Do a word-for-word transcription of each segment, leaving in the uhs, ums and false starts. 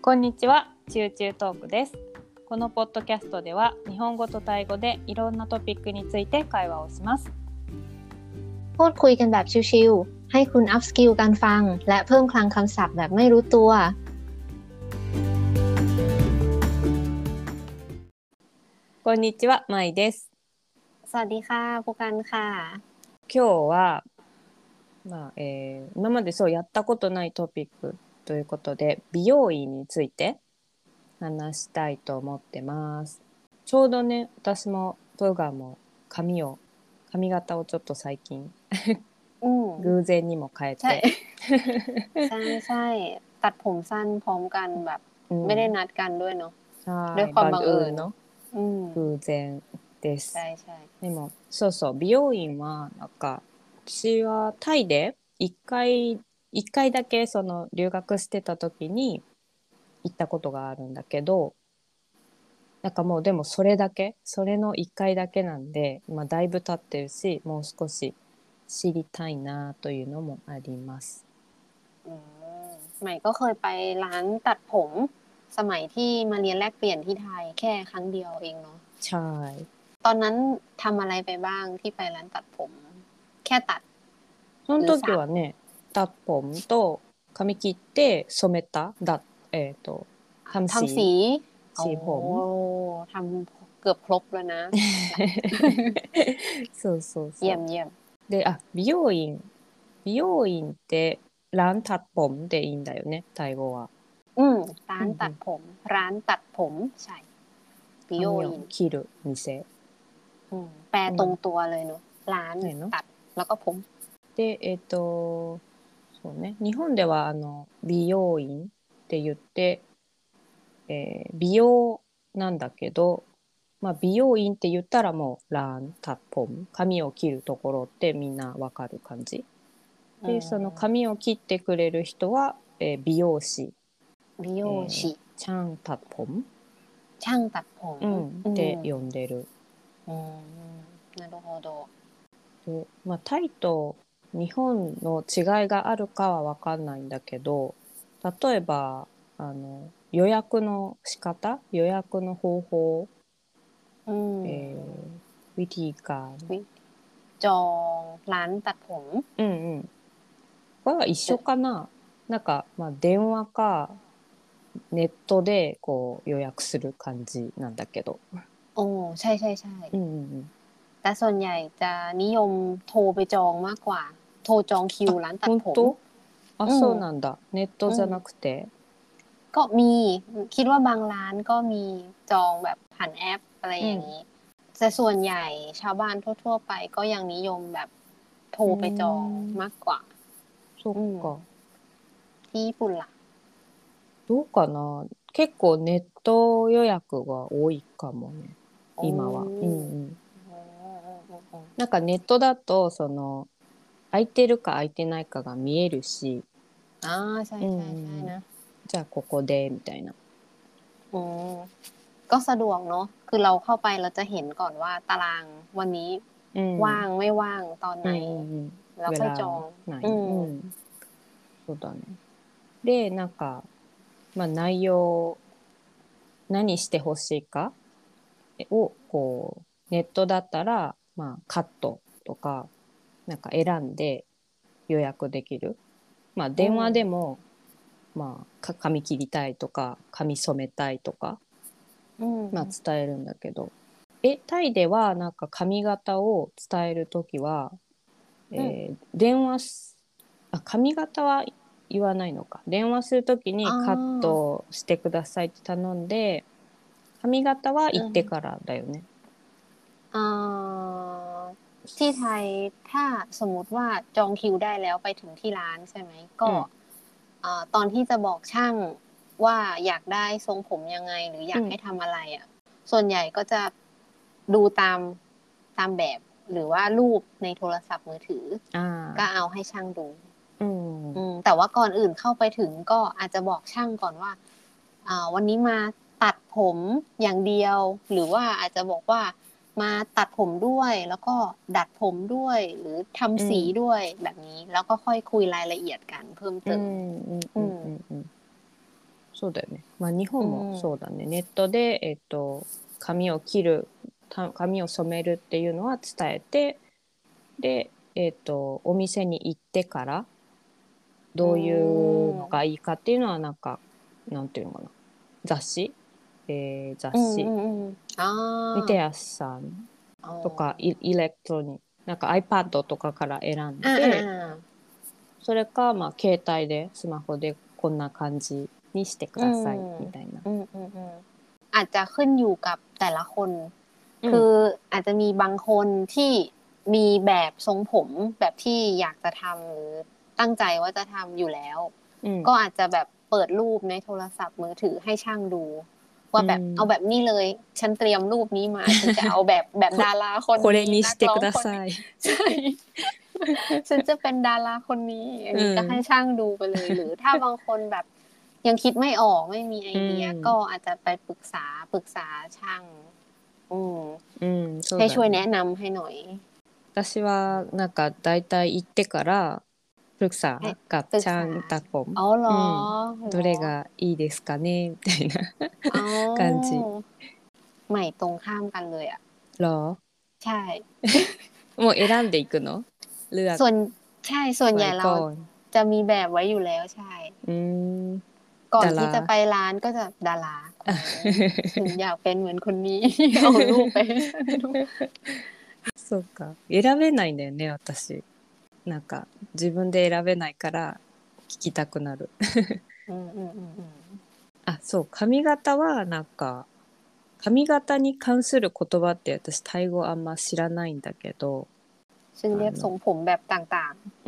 こんにちは、チューチュートークです。このポッドキャストでは日本語とタイ語でいろんなトピックについて会話をします。 พูดคุยกันแบบชิลๆให้คุณอัพสกิลการฟังและเพิ่มคลังคำศัพท์แบบไม่รู้ตัว。 こんにちは、まいです。 สวัสดีค่ะผู้กันค่ะ。 今日は、まあえー、今までそうやったことないトピックということで、美容院について話したいと思ってます。ちょうどね、私もトゥーガーも髪を髪型をちょっと最近偶然にも変えてใช่ใช่ใช่ตัดผมสั้นพร้อมกันแบบไม่ได้นัดกันด้วยเนาะด้วยความบังเอิญの偶然です。 ใช่ใช่でもそうそう美容院はなんか私はタイで一回一回だけその留学してた時に行ったことがあるんだけど、なんかもうでもそれだけそれの一回だけなんで、まあ、だいぶ経ってるし、もう少し知りたいなというのもあります。 อืมใหม่ก็เคยไปร้านตัดผมสมัยที่มาเรียนแลกเปลี่ยนที่ไทยแค่ครั้งเดียวเองเนาะใช่ตอนนั้นทำอะไรไปบ้างที่ไปร้านตัดผมแค่ตัดその時はね、ตัดผมと髪切って染めただえっ、ー、とทำสีทำสีสีผมทำเกือบครบแล้วนะそうそうそうเยี่ยมเยี่ยมで、あ、美容院美容院ってร้านตัดผมでいいんだよね、タイ語は。 อืมร้านตัดผมร้านตัดผมใช่美容院髪を切る店。 อืมแปลตรงตัวเลยเนาะร้านตัดแล้วก็ผมで、えっと、そうね、日本ではあの美容院って言って、えー、美容なんだけど、まあ、美容院って言ったらもうランタッポン髪を切るところってみんなわかる感じで、その髪を切ってくれる人は、えー、美容師美容師、えー、 チャンタッポンチャンタッポン、 うん、って呼んでる。 うん、なるほど。 で、まあ、タイと日本の違いがあるかは分かんないんだけど、例えばあの予約の仕方予約の方法、 うんえー、วิธีการจองร้านตัดผมうんうんは一緒かな。なんか、まあ、電話かネットでこう予約する感じなんだけど。 โอ้ใช่ใช่ใช่うんうんうんแต่ส่วนใหญ่จะนิยมโทรไปจองมากกว่าโทรจองคิวร้านตัดผม本当あ、そうなんだ。ネットじゃなくてก็มีคิดว่าบางร้านก็มีจองแบบผ่านแอปอะไรอย่างนี้แต่ส่วนใหญ่ชาวบ้านทั่วๆไปก็ยังนิยมแบบโทรไปจองมากกว่าそっかที่ญี่ปุ่นล่ะどうかな。結構ネット予約が多いかもね、今は。うんうん。なんかネットだとその空いてるか空いてないかが見えるし、 ああ、ใช่ใช่ใช่นะじゃあここでみたいな。 อืมก็สะดวกเนาะคือเราเข้าไปเราจะเห็นก่อนว่าตารางวันนี้ว่างไม่ว่างตอนไหนแล้วค่อยจองうん、そうだね。で、なんかまあ内容何してほしいかをこうネットだったらまあカットとかなんか選んで予約できる。まあ電話でも、うん、まあ髪切りたいとか髪染めたいとか、うん、まあ伝えるんだけど、えタイではなんか髪型を伝えるときは、えーうん、電話あ髪型は言わないのか。電話するときにカットしてくださいって頼んで、髪型は行ってからだよね。 うん、ที่ไทยถ้าสมมติว่าจองคิวได้แล้วไปถึงที่ร้านใช่ไหมก็ตอนที่จะบอกช่างว่าอยากได้ทรงผมยังไงหรืออยากให้ทำอะไรอ่ะส่วนใหญ่ก็จะดูตามตามแบบหรือว่ารูปในโทรศัพท์มือถือก็เอาให้ช่างดูแต่ว่าก่อนอื่นเข้าไปถึงก็อาจจะบอกช่างก่อนว่าวันนี้มาตัดผมอย่างเดียวหรือว่าอาจจะบอกว่ามาตัดผมด้วยแล้วก็ดัดผมด้วยหรือทำสีด้วยแบบนี้แล้วก็ค่อยคุยรายละเอียดกันเพิ่มเติมそうだよね。まあ日本もそうだね。ネットで、えっと、髪を切る、た髪を染めるっていうのは伝えて、で、えっと、お店に行ってからどういうのがいいかっていうのはなんか、なんていうのかな。雑誌、えー雑うんう誌んうんあ見てやすさんあอ๋とかอイ、イレクトロニック、なんか iPad とかから選んอ่าอ่าで、 อ่าそれか、まあ、携帯で、スマホでこんな感じにしてくอืださい、みมたいな。 อืมอืมอืมอาจจะขึ้นอยู่กับแต่ละคนうん、 คืออาจจะมีบางคนที่มีแบบทรงผมแบบที่อยากจะทำหรือตั้งใจว่าจะทำอยู่แล้วうん、 ก็อาจจะแบบเปิดรูปในโทรศัพท์มือถือให้ช่างดู ว่าแบบうん。 เอาแบบนี้เลย ฉันเตรียมรูปนี้มา ฉันจะเอาแบบแบบこ、 ดาราคนこれนี้นักにしてくร้องคนนี้ださい。 ใช่ ฉันจะเป็นดาราคนนี้อันうนี้ก็ให้ん、 ช่างดูไปเลยหรือถ้าบางคนแบบยังคิดไม่ออกไม่มีไอうเดียん、 ก็อาจจะไปปรึกษาปรึกษาช่างอืมうん、そうให้ช่วยだね。 แนะนำให้หน่อย私は、なんか、だいたい行ってから、プルクให้サกับปรึกษาチャンタコン、 อ๋อเหรอうん、 เหรอどれがいいですかねみたいなอ๋อ感じ。 ใหม่ตรงข้ามกันเลยอ่ะหรอใช่もう選んでいくのเลือกส่วนใช่ส่วนใหไว้ญ่เราก่อนจะมีแบบไว้อยู่แล้วใช่อืมก่อนดาราที่จะไปร้านก็จะดาราคนนี้ฉันอยากเป็นเหมือนคนนี้ เอารูปไปให้ฉันดูそうか。選べないんだよね、私。なんか、自分で選べないから聞きたくなる。 อืมอืมอืมอืมあ、そう、髪型は、なんか、髪型に関する言葉って私、タイ語あんま知らないんだけど、 ซึ่งあเรียกทรงの、 ผมแบบต่างうん。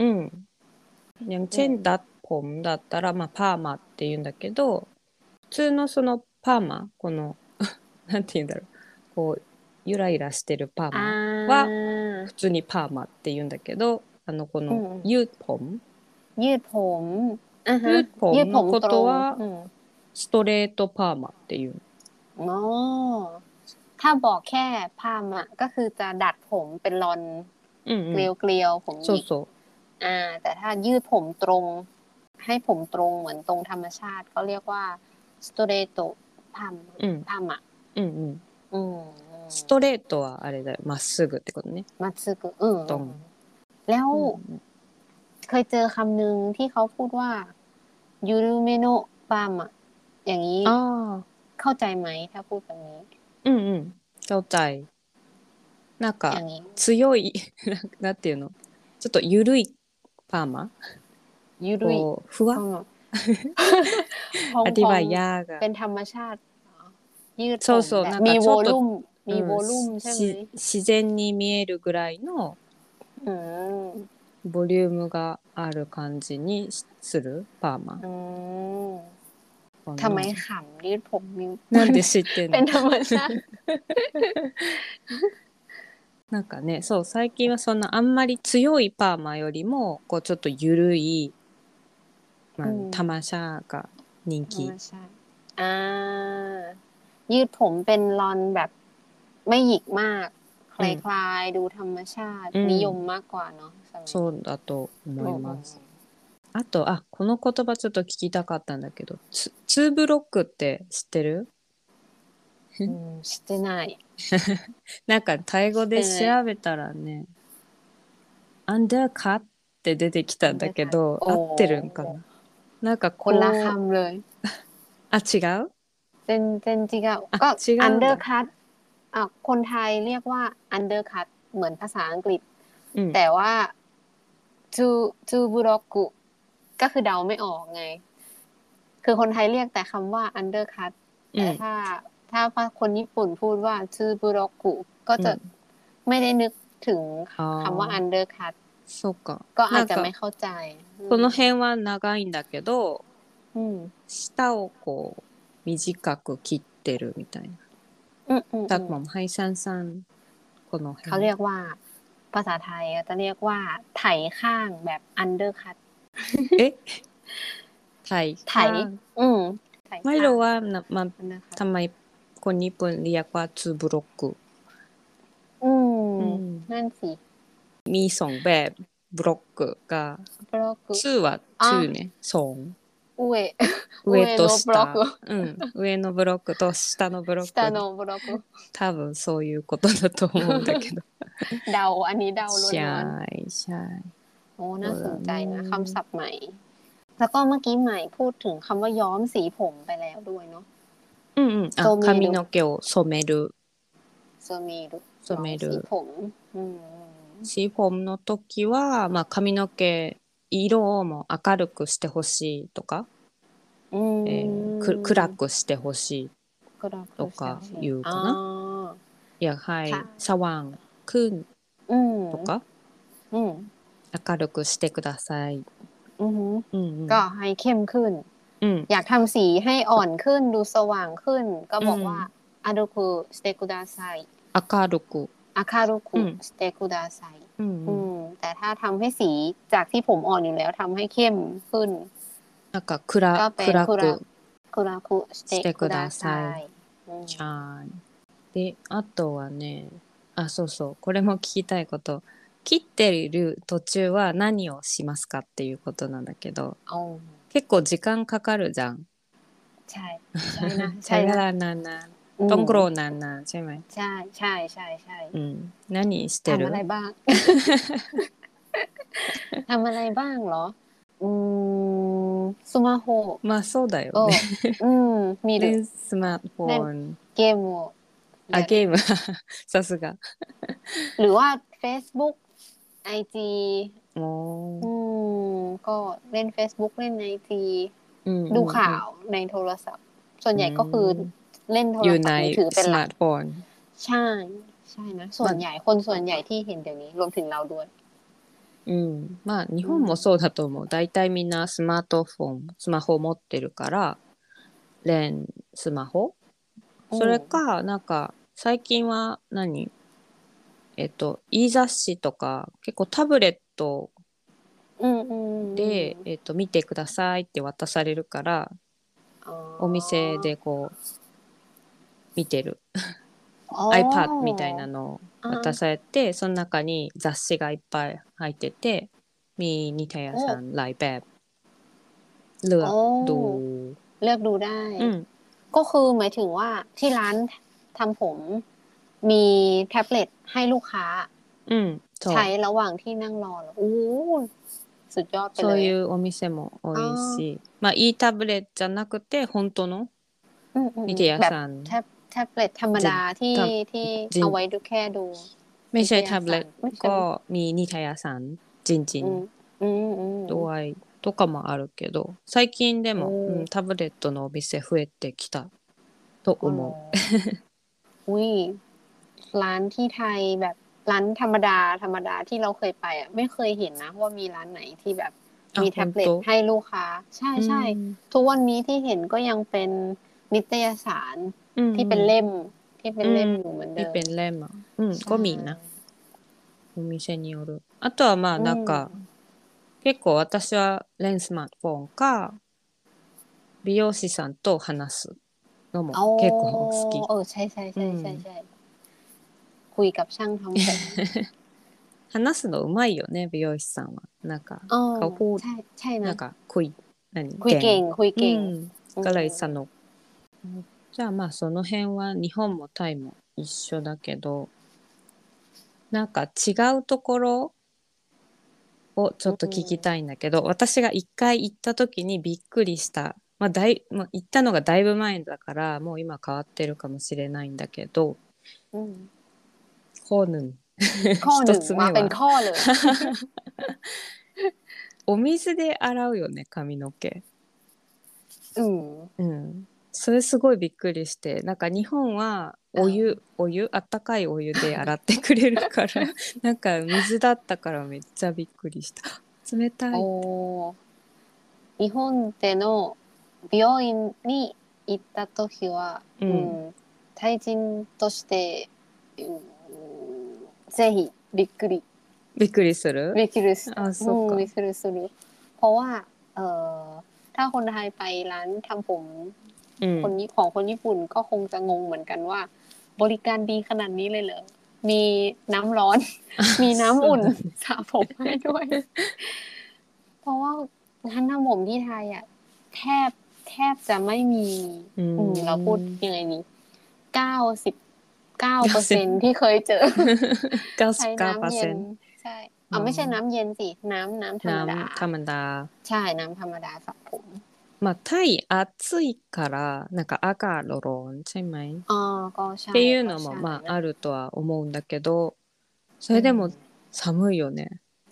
อย่างๆอืมเช่น、ダッポンだったら、まあ、パーマって言うんだけど、普通のそのパーマ、この、なんて言うんだろう。こう、ゆらゆらしてるパーอ่マは、 า普通にパーマって言うんだけど、あの、この、 อืมユーポンยืดผมอ่าฮะユーポยืดผมンのこตรงとは、 อืมストレートパーマっていう。 อ๋อถ้าบอกแค่พามอ่ะก็คือจะดัดผมเป็นลอนเกลีうんうん。 ยวเกลียวผมหยิกそうそอ่าแต่ถ้ายืดผมตรงให้ผมตรงเหมือนตรงธรรมชาติก็เรียกว่าสโตเรโตพามう。うん。 พามอ่ะうんうん。 อืมストレートはあれだよ。まっすぐってことね。 มัตสึกุอืมドン。 แล้วうん。 เคยเจอคำหนึ่งที่เขาพูดว่ายูรุเมโนะปามอ่ะอย่างนี้ああ、 เข้าใจไหมถ้าพูดแบบนี้うんうん。เข้าใจ。なんか、 อย่างนี้強い、なんなんていうのちょっと緩いパーマยูรุยこう、ふわพอง พองพองอธิบายยากอะเป็นธรรมชาติยืดผมそうそう、なんแบบมีかちょっと、 โวลุ่มมีโวうん、 ลุ่มし、 ใช่ไหมし自然に見えるぐらいのอืมボリュームがある感じにするパーマอืมかทำไมな。 ขำยืดผมมีなんで知ってんのเป็นธรรมชาติなんかね、そう、最近はそんなあんまり強いパーマよりも、こうちょっと緩い、まあ、 อืมタマシャが人ธรรม気。 ชาติอ่ายืดผมเป็นลอนแบบไม่หยิกมากคうん、 ลายๆดูธรรมชาติうนิยมん、 มากกว่าเนาะสมัยนี้そうだと思อืมอืมいます。あと、あ、この言葉ちょっと聞きたかったんだけど、ツ、ツーブロックって知ってるうん、してない。 なんかタイ語で調してない。 べたらね、アンダーカって出てきたんだアンダーカット。 けど、合ってるんかโอ้ななんかคนละこう、 คำเลยあ、違うเจนเจนจิกะあ、 ก็違อันうんだ。 เดอร์คัตอ่ะคนไทยเรียกว่าอันเดอร์คัตเหมือนภาษาอังกฤษうん、 แต่ว่าจูจูบุโรกุก็คือเดาไม่ออกไง คือคนไทยเรียกแต่คำว่าอันเดอร์คัตうん、 แต่ถ้าถ้าคนญี่ปุ่นพูดว่าจูบุโรกุก็จะうん。 ไม่ได้นึกถึงคำว่าああ、 อันเดอร์คัตそうか。 ก็อาจจะไม่なんか、 เข้าใจอืこのม辺は長いんだけど、 อืม下をこう、短く切ってるみたいな。 อืมอืมอืだมもん、はいさんさん、このเขา辺。 เรียกว่าภาษาไทยจะเรียกว่าไถข้างแบบอันเดอร์คัตえไทยไถข้างอืมไถไม่ข้างรู้ว่านะมันอันเดอร์คัตทำไมคนญี่ปุ่นเรียกว่าทูบล็อกกุอืมอืมนั่นสิมีสองแบบบล็อกกกับบล็อกกุชื่อว่าอ่ะชื่อเนี่ยสอง上上と上のブロッ下、 クうん、上のブロックと下のブロッ下クにのブロック多分そういうことだと思うんだけど。 เดาอันนี้เดาใช่ล้วนใช่ๆโอ้น่าสนそうだใจนะคำね。 ศัพท์ใหม่แล้วก็เมื่อกี้ใหม่พูดถึงคำว่าย้อมสีผมไปแล้วด้วยเนาะうんうん。 โซあ、 เมรุ髪の毛を染める。 โซเมรุย้染อมめる。 สีผมอืมシフォンの時は、まあ、髪の毛、色をもう明るくしてほしいとか、 อืえーく、暗มくしてほしいก็รักとคือเซลかชี言うอ๋อかな。อยากให้ค่ะสว่างขึ้นอืมとか、 อืม明るくしてください。 อือหือうんうん。 ก็ให้เข้มขึ้นうん。 อยากทำสีให้อ่อนขึ้นดูสว่างขึ้นก็บอกว่าうんอารุคุสเตกุดาไซ明るく。 อาคารุคุうんสเตกุดาไซうんうอืん。 มแต่ถ้าทำให้สีจากที่ผมอ่อนอยู่แล้วทำให้เข้มขึ้นなんかก็暗、 เป็น暗คุระくคุระคุสเตしてくกุดาไซださい。 อืมใช่。で、あとはね、あ、そうそう、これも聞きたいこと。切っている途中は何をしますかっていうことなんだけど、 เอา結構時間かかるじゃん。 ใช่ใช่นะใช่ใช้เวนะลานานอืๆต้องมโกรนนานๆใช่ไหมใช่ใช่ใช่ใช่อืม何してทำอะไรるบ้าง ทำอะไรบ้างเหรออืมスマホまあそうだよをね。 うん、見る。 で、スマートフเล่นォン、 เกมをあ、 やる。 ゲーム、さすが。 หรือว่า Facebook ไอ จีおอืーมก็เล่น Facebook เล่น ไอ จีうんดูうんข่าうんวในโทรศัพท์ ส่วนうใหญ่ก็คือーんเล่นโทอยู่ในรศัพท์มือถือเป็นหลักスマートフォンใช่ใช่นะ ส่วนใหญ่คนส่วนใหญ่ที่เห็นเดี๋ยวนี้รวมถึงเราด้วยうん。まあ、日うん本もそうだと思う。大体みんなスマートフォン、スマホ持ってるから、連スマホうんそれか、なんか、最近は何えっと、e 雑誌とか、結構タブレットうんうんで、えっと、見てくださいって渡されるから、 อ๋お店อでこう、見てる。 อ๋อ iPad みたいなのをอ่渡าされて、その中に雑誌がいっぱい入ってて มีนิตยโอ้สารหลายแบบเลือโอ้กดูเลือกดูได้อืมก็คือหมายถึงว่าที่ร้านทำผมมีแท็บเล็ตให้ลูกค้าうんそใช้うระหว่างที่นั่งรอเหรอโอ้สุดยอดไปそういเลยうお店も多いอ๋อしまあいいタブレットじゃなくて本当のอืมอืมนิตยแบบสารแท็บแท็บเล็ตธรรมじดาที่たที่じเอาไว้ดูแค่ดูไม่นิตยใช่แท็บเล็ตสารไม่ใช่ก็ไหมมีนิตยสารจริงอืมอืมอืมๆด้วยとかもあるけど最近でโอ้も、うん、タブレットのお店増えてきたとอ๋อเหรอ思うอุ้ยร้านที่ไทยแบบร้านธรรมดาธรรมดาที่เราเคยไปอ่ะไม่เคยเห็นนะว่ามีร้านไหนที่แบบあมีแท็บเล็ต本当ให้ลูกค้าใช่うใช่んทุกวันนี้ที่เห็นก็ยังเป็นนิตยสารうんที่เป็นうんเล่มที่เป็นうんเล่มอยู่เหมือนเดิมที่เป็นเล่มอ่ะอืมก็ใช่มีนะお店によるあとはまあอืなんかม結構私はレンスマートフォンか美容師さんと話すのもอ๋อ結構好きเออใช่ใช่うใช่ใช่んใช่คุยกับช่างทำผม話すのうまいよね美容師さんはなんかอ๋อเขาพูดใช่ใช่นะなんかคุย何คุยเก่งคุยうเก่งんอืก็เลยมสนุกじゃあまあその辺は日本もタイも一緒だけどなんか違うところをちょっと聞きたいんだけど、私が一回行った時にびっくりした。まあ、だい、まあ、行ったのがだいぶ前だから、もう今変わってるかもしれないんだけど、 うんコーヌン。 ข้อห一นึ่งมาเป็นつ目は、 ข้อเลยお水で洗うよね、髪の毛。 อืมうん。それすごいびっくりして、なんか日本はお湯、お湯、あったかいお湯で洗ってくれるから、なんか水だったからめっちゃびっくりした。冷たい。 おー日本での美容院に行った時は、 ううんん、対人として、うんぜひびっくりびっくりするびっくりしたあ、そっかうんびっくりするเพราะว่าเอ่อถ้าคนไทยไปร้านทำผมคนนี้ของคนญี่ปุ่นก็คงจะงงเหมือนกันว่าบริการดีขนาดนี้เลยเหรอมีน้ำร้อนมีน้ำอุ่นสระผมให้ด้วย เพราะว่าร้านทำผมที่ไทยอ่ะแทบแทบจะไม่มีอืมอืมเราพูดยังไงดีเก้าสิบเก้าเปอร์เซ็นต์ที่เคยเจอ ใช้น้ำเย็นใช่เอาไม่ใช่น้ำเย็นสิน้ำน้ำธรรมดาน้ำธรรมดาใช่น้ำธรรมดาสระผมまあタイ暑いからなんか赤ロロンใช่ไหมอ๋อก็ใช่っていうก็のもใช่まあนะあるとは思うんだけどそれでも寒いよね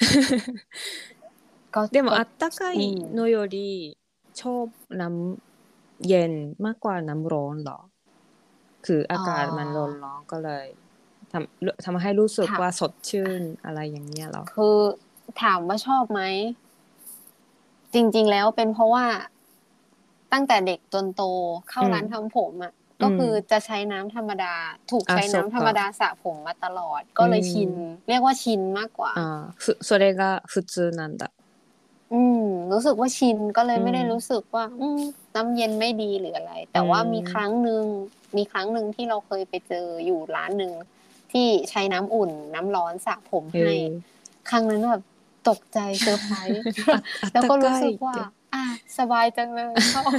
ก็でもก็あったかอืいมのよりชอบน้ำเย็นมากกว่าน้ำร้อนเหรอคืออาอ๋อกาศมันร้อนๆก็เลยทำทำให้รู้สึกถามว่าสดชื่นอะไรอย่างเงี้ยเหรอคือถามว่าชอบไหมจริงๆแล้วเป็นเพราะว่าตั้งแต่เด็กจนโตเข้าอืมร้านทำผมอ่ะอืมก็คือจะใช้น้ำธรรมดาถูกあใช้そっかน้ำธรรมดาสระผมมาตลอดうก็เลยชินんเรียกว่าชินมากกว่าあふそれが普通なんだอืมรู้สึกว่าชินก็เลยอืไม่ได้รู้มสึกว่าอืมน้ำเย็นไม่ดีหรืออะไรอืแต่ว่ามีครั้งมหนึ่งมีครั้งหนึ่งที่เราเคยไปเจออยู่ร้านหนึ่งที่ใช้น้ำอุ่นน้ำร้อนสระผมへให้えครั้งนั้นแบบตกใจเซอร์ไพรส์あ、あっแล้วたก็รู้สึกว่าかいって。 อ่ะสบายจังเลยชอบ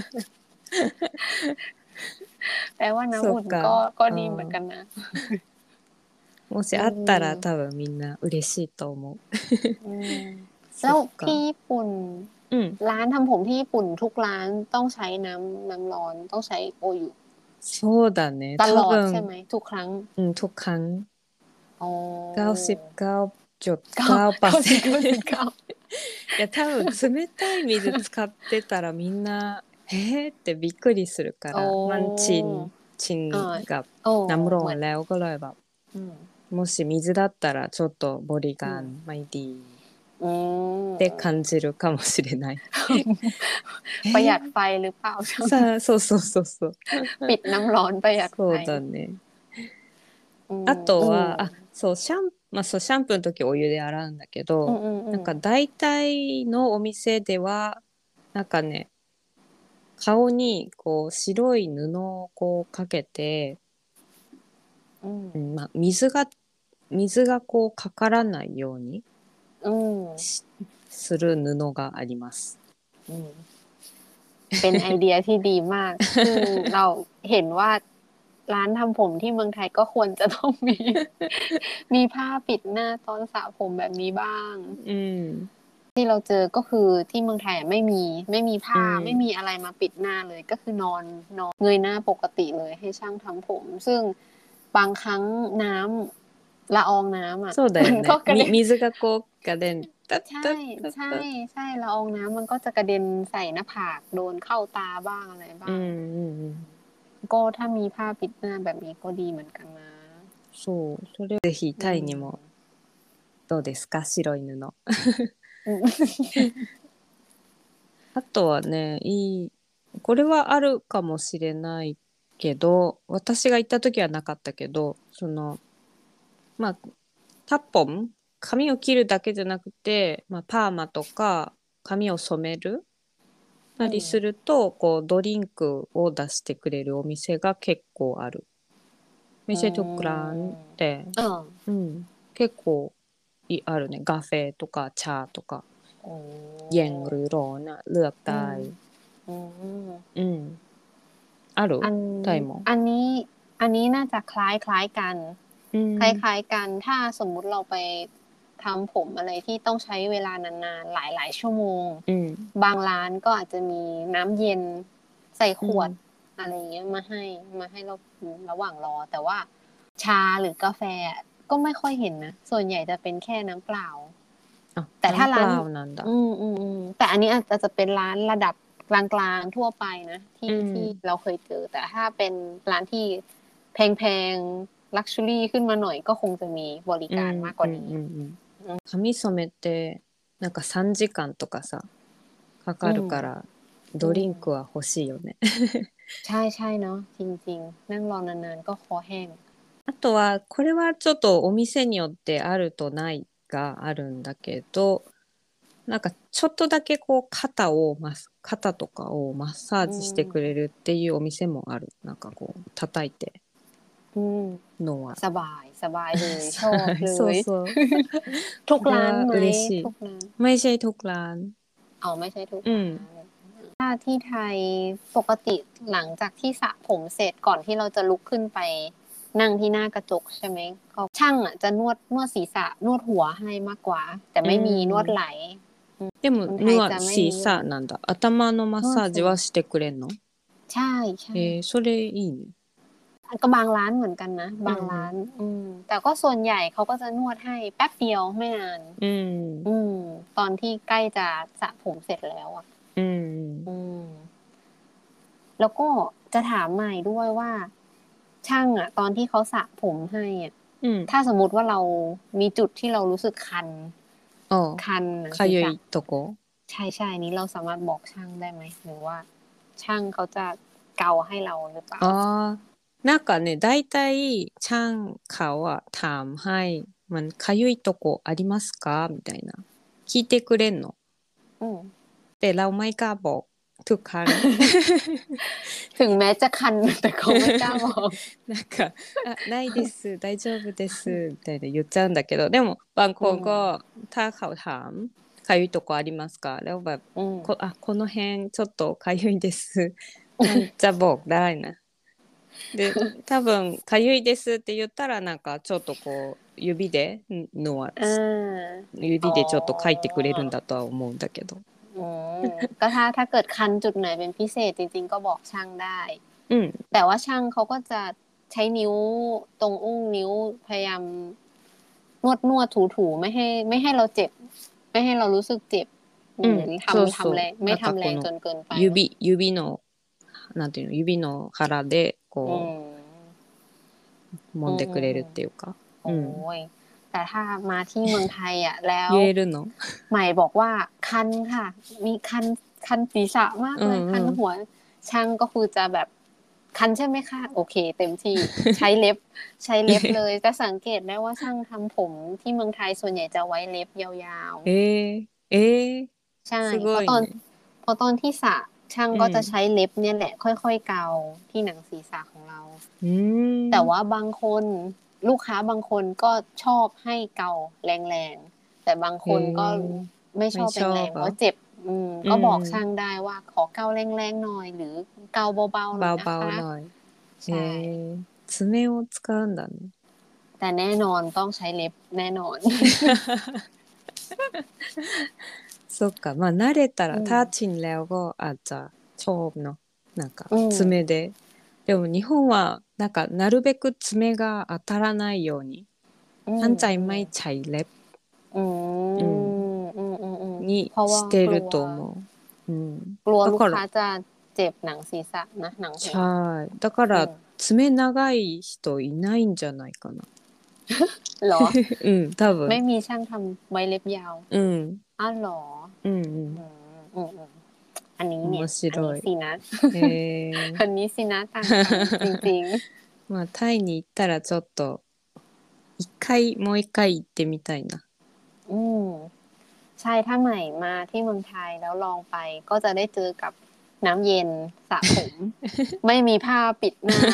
แปลว่าน้ำอุ่นそっか。 ก็ก็うดีเหมือนกันん。 นะもしอืあったらม多分みんな嬉しいと思う。 อืมそแล้วっか。 ที่ญี่ปุ่นうん。 ร้านทำผมที่ญี่ปุ่นทุกร้านต้องใช้น้ำน้ำร้อนต้องใช้โอยุそうだね。 ตล多อดใช่ไหม分、 ทุกครั้งうん、ทุกครั้งอ๋อเก้าเก้าสิบเก้าสิบเก้าきゅうじゅうきゅうてんきゅうパーセント いや、多分冷たい水使ってたらみんな、えーってびっくりするかโอ้ら、มันชินชิอ่านกับโอ้น้ำร้อเหมือนนแล้วก็เลยแบบอืมもし水だったらちょっとบริอืการมไม่ดีอืってม感じるかもしれない。えประหยัดーไฟหรือเปล่าช่างさあ、そうそうそうそう。 ปิดน้ำร้อนประหยัดไฟそうだね。 อืあมอืมとは、あ、そう、シャン、まあそう、シャンプーの時お湯で洗うんだけど、 อืมอืมอืมなんか大体のお店では、なんかね、顔にこう白い布をこうかけて、 อืมうんまあ、水が、水がこうかからないようにอืมしする布があります。 อืมเป็นไอเดียที่ดีมากซึ่งเราเห็นว่าร้านทำผมที่เมืองไทยก็ควรจะต้องมีมีผ้าปิดหน้าตอนสระผมแบบนี้บ้างうん。 ที่เราเจอก็คือที่เมืองไทยอะไม่มีไม่มีうผ้าไม่ん。 มีอะไรมาปิดหน้าเลยก็คือนอนนอนเงยหน้าปกติเลยให้ช่างทำผมซึ่งบางครั้งน้ำละอองน้ำอ่ะそうだมันก็よね。み、 กระเด็น水がこう、ガデン、タッใช่タッタッใช่タッ。 ใช่ละอองน้ำมันก็จะกระเด็นใส่หน้าผากโดนเข้าตาบ้างอะไรうんบ้างうんうん。 ก็ถ้ามีผ้าปิดหน้าแบบนี้ก็ดีเหมือนกันนะそう。それぜひอืタイにもมどうですか白い布。 อืมあとはね、いい、これはあるかもしれないけど、私が行った時はなかったけど、その、まあ、タッポン、髪を切るだけじゃなくて、まあ、パーマとか髪を染めるたりすると、こう、ドリンクを出してくれるお店が結構ある。 อื店とクランっมて、 เออうん、結構いあるね。カフェとかチャーとか、 โอ้เย็นหรือร้อนนะเลือกอืได้มอืมอืมあるอันไทยもอันนี้อันนี้น่าจะคล้ายคล้ายกันอืมคล้ายๆกันถ้าสมมุติเราไปทำผมอะไรที่ต้องใช้เวลานานๆหลายๆชั่วโมงอืมบางร้านก็อาจจะมีน้ำเย็นใส่ขอืวดมอะไรเงี้ยมาให้มาให้เราระหว่างรอแต่ว่าชาหรือกาแฟก็ไม่ค่อยเห็นนะส่วนใหญ่จะเป็นแค่น้ำเปล่าอ่ะแต่ถ้าร้านน้ำเปล่าなんだอืมอืมอืมแต่อันนี้อาจจะเป็นร้านระดับกลางๆทั่วไปนะอืที่มที่เราเคยเจอแต่ถ้าเป็นร้านที่แพงๆลักชัวรี่ขึ้นมาหน่อยก็คงจะมีบริการอืมมากกว่านี้อืมอืมอืม髪染めってなんかさんじかんとかさかอืかるมからอืドリンクมは欲しいよねใช่ใช่เนาะจริงๆนั่งรอนานๆก็คอแห้งあとはこれはちょっとお店によってあるとないがあるんだけどなんかちょっとだけこう肩をマス肩とかをマッサーอืジしてくれมるっていうお店もある。なんかこう叩いてอืมのは。 สบายสบายเลยชอบเลそうยそう。 ทุกそれはร้านไหม嬉しい。 ทุกร้านไม่ใช่ทุกร้านเอาไม่ใช่ทุกอืมร้านถ้าที่ไทยปกติหลังจากที่สระผมเสร็จก่อนที่เราจะลุกขึ้นไปนั่งที่หน้ากระจกใช่ไหมก็ช่างอ่ะจะนวดนวดศีรษะนวดหัวให้มากกว่าแต่ไม่มีนวดไหลでもคนไทนยวわจะไม่ศีรนิยษะมなんだ。頭のマッサージはしてくれんの？ ใช่ใช่えー、それいいね。 ก็บางร้านเหมือนกันนะบางร้าน อืมแต่ก็ส่วนใหญ่เขาก็จะนวดให้แป๊บเดียวไม่นานうん。 อืมตอนที่ใกล้จะสระผมเสร็จแล้วอ่ะうん。 อืมแล้วก็จะถามใหม่ด้วยว่า ช่างอ่ะ ตอนที่เขาสระผมให้อ่ะうん。 ถ้าสมมติว่าเรามีจุดที่เรารู้สึกคันああ、 คันหนังかศีรゆษะいとこ？ ใช่ใช่นี้เราสามารถบอกช่างได้ไหมหรือว่า ช่างเขาจะเกาให้เราหรือเปล่าああ、なんかね、だいたいちゃんเขาอะถามให้มันかゆいとこありますかみたいな聞いてくれんのอืมแต่เราไม่กล้าบอกทุกครั้งถึงแม้จะคัน แต่เขาไม่กล้าบอกなんか「あないです大丈夫です」みたいな言っちゃうんだけどでもบางคนก็ถ้าเขาถามかゆいとこありますかแล้วแบบอืมこあこの辺ちょっとかゆいですมันจะบอกได้นะで多分かゆいですって言ったらなんかちょっとこう指でのはอ่า指でちょっと書いてくれるんだとは思うんだけどอืมก็ถ้าถ้าเกิดคันจุดไหนเป็นพิเศษจริงๆก็บอกช่างได้อืมแต่ว่าช่างเขาก็จะใช้นิ้วตรงอุ้งนิ้วพยายามนวดนวดถูถูไม่ให้ ไม่ให้เราเจ็บ ไม่ให้เรารู้สึกเจ็บอืมหรือそうทำそうทำแรงไม่ทำแรงなんかこのจนเกินไป指指のなんていうの指の腹でอืこมう揉んでくれるっていうかโอ้ยแต่ถ้ามาที่เมืองไทยอ่ะ แล้ว言えるのใหม่บอกว่าคันค่ะ มีคันคันศีรษะมากเลยอืมคันหัว ช่างก็คือจะแบบคันใช่ไหมคะโอเค เต็มที่ ใช้เล็บ ใช้เล็บเลยแต่สังเกตได้ว่าช่างทำผมที่เมืองไทยส่วนใหญ่จะไว้เล็บยาวๆえー、えー、 ใช่すเพごราะいตอนねเพราะตอนที่สระช่างอืมก็จะใช้เล็บเนี่ยแหละ ค่อยๆเกาที่หนังศีรษะของเราอืมแต่ว่าบางคนลูกค้าบางคนก็ชอบให้เกาแรงๆแต่บางคนก็เฮ้ไม่ชอบไม่ชอบแรงๆเหรอเพราะเจ็บ อืมอืมก็บอกช่างได้ว่าขอเกาแรงๆหน่อย หรือเกาเบาๆหน่อยนะเบาคะๆหน่อยใช่えー、爪を使うんだねแต่แน่นอนต้องใช้เล็บแน่นอนそっかまあ慣れたら、 うん、 タッチにแล้วก็อาจจะชอบเนาะなんかうん爪で、でも日本はなんかなるべく爪が当たらないようにอืมท่านใจไม่ใช้เล็บอือืมมอืมอืมอืมにเพราะしว่าてกลัるวと思う、うん、 กลัวだลูกかค้าらจะเจ็บหนังศีรษะนะหนังหัใช่วだかอืらม爪長い人いないんじゃないかなเหรอうん多ไม่分มีช่างทำไว้เล็บยาวうんอ้าวเหรอうんうอืんมอืมอืมอันนี้เนี่ย面อัน白นี้いสินะへえอันนี้สินะต่างกัน จริงまあタイに行ったらちょっと一回もう一回行ってみたいなๆ อืมใช่ถ้าใหม่มาที่เมืองไทยแล้วลองไป ก็จะได้เจอกับน้ำเย็นสระผม ไม่มีผ้าปิดหน้า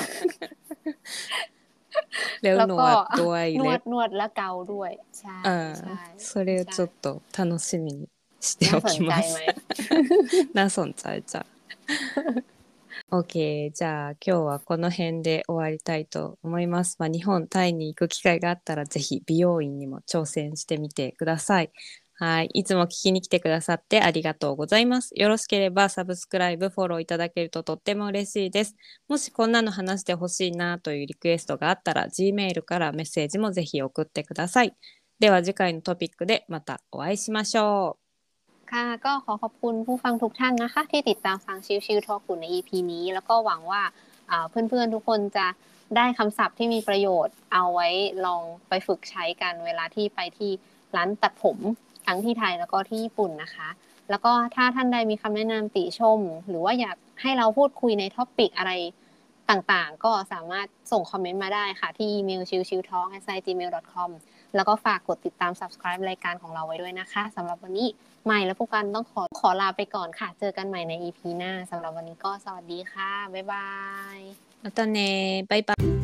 แล้วแล้วนก็วดด้วยนวเล็ดบนวดและเกาด้วย ใช่อ่าใช่それをใช่ちょっと楽しみにしておน่าสนきใจますไหมน่าสนใจจ้ะ オッケーじゃあ今日はこの辺で終わりたいと思います。まあ、日本タイに行く機会があったらぜひ美容院にも挑戦してみてください。はい。いつも聞きに来てくださってありがとうございます。よろしければサブスクライブ、フォローいただけるととっても嬉しいです。もしこんなの話してほしいなというリクエストがあったら Gmail からメッセージもぜひ送ってください。では次回のトピックでまたお会いしましょう。 ค่ะก็ขอขอบคุณผู้ฟังทุกท่านนะคะที่ติดตามฟังชิวๆทอล์กใน อี พี นี้แล้วก็หวังว่าเพื่อนๆทุกคนจะได้คำศัพท์ที่มีประโยชน์เอาไว้ลองไปฝึกใช้กันเวลาที่ไปที่ร้านตัดผมทั้งที่ไทยแล้วก็ที่ญี่ปุ่นนะคะแล้วก็ถ้าท่านใดมีคำแนะนำติชมหรือว่าอยากให้เราพูดคุยในท็อปิกอะไรต่างๆก็สามารถส่งคอมเมนต์มาได้ค่ะที่อีเมล ชิวชิวทอล์ก แอท จีเมล ดอท คอม แล้วก็ฝากกดติดตาม Subscribe รายการของเราไว้ด้วยนะคะสำหรับวันนี้ใหม่และผู้กันต้องขอขอลาไปก่อนค่ะเจอกันใหม่ใน อี พี หน้าสำหรับวันนี้ก็สวัสดีค่ะบ๊ายบายまたねバイバイ